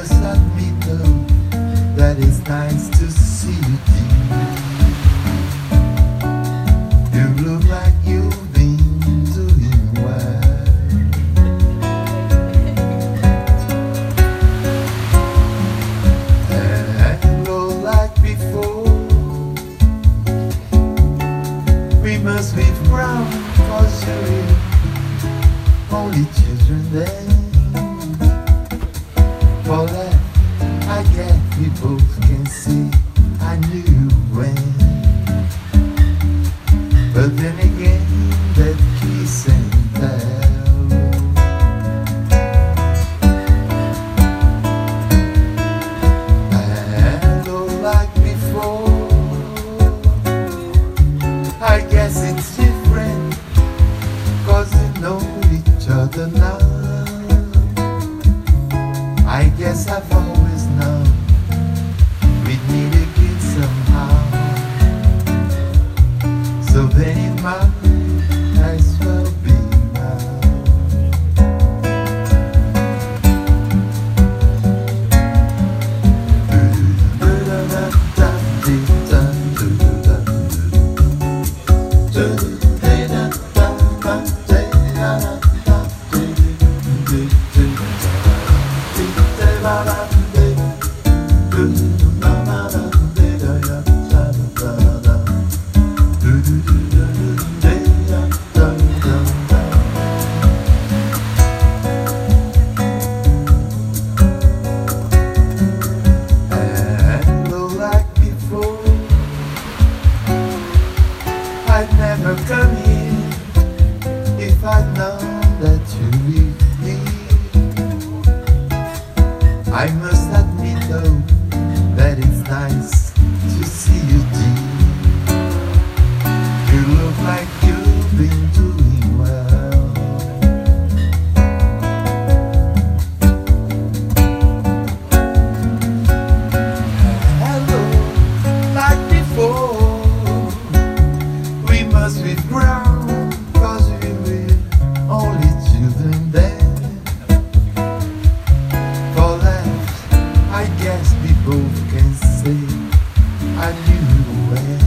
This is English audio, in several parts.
must admit though that it's nice to see you, dear. You look like you've been doing well. And look like before, we must be proud, 'cause you're only children then. For that, I guess we both can see I knew when. But then again, that kiss and tell. And all like before, I guess it's different, 'cause we know each other now. I guess I've always known we'd meet again somehow. So then it might as well be now. I'd never come here if I'd known that you'd be here. I must admit though that it's nice to see you, dear. You look like you've been doing well. Hello, like before. Must be proud, 'cause we were only children then. For that, I guess we both can say I knew when.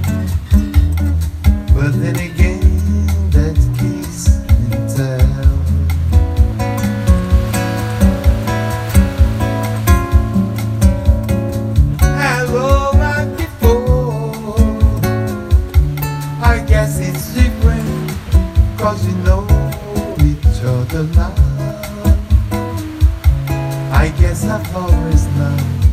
But then again, that kiss and tell. Hello, like before. I guess it's different, 'cause we know each other now. I guess I've always known